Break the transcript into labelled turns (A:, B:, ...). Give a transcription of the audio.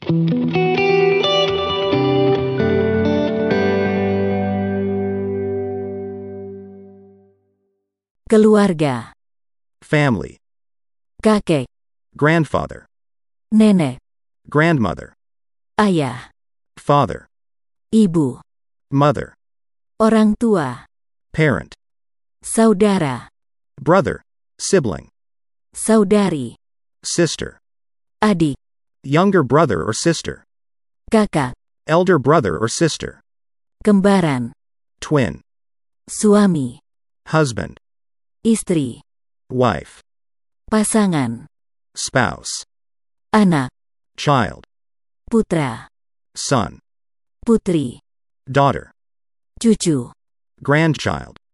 A: Keluarga.
B: Family.
A: Kakek,
B: Grandfather.
A: nenek,
B: Grandmother.
A: ayah,
B: Father.
A: ibu,
B: Mother.
A: orang tua,
B: Parent.
A: saudara,
B: Brother. Sibling.
A: saudari,
B: Sister.
A: adik,
B: Younger brother or sister.
A: kakak,
B: Elder brother or sister.
A: kembaran,
B: Twin.
A: suami,
B: Husband.
A: istri,
B: Wife.
A: pasangan,
B: Spouse.
A: anak,
B: Child.
A: putra,
B: Son.
A: putri,
B: Daughter.
A: cucu.
B: Grandchild.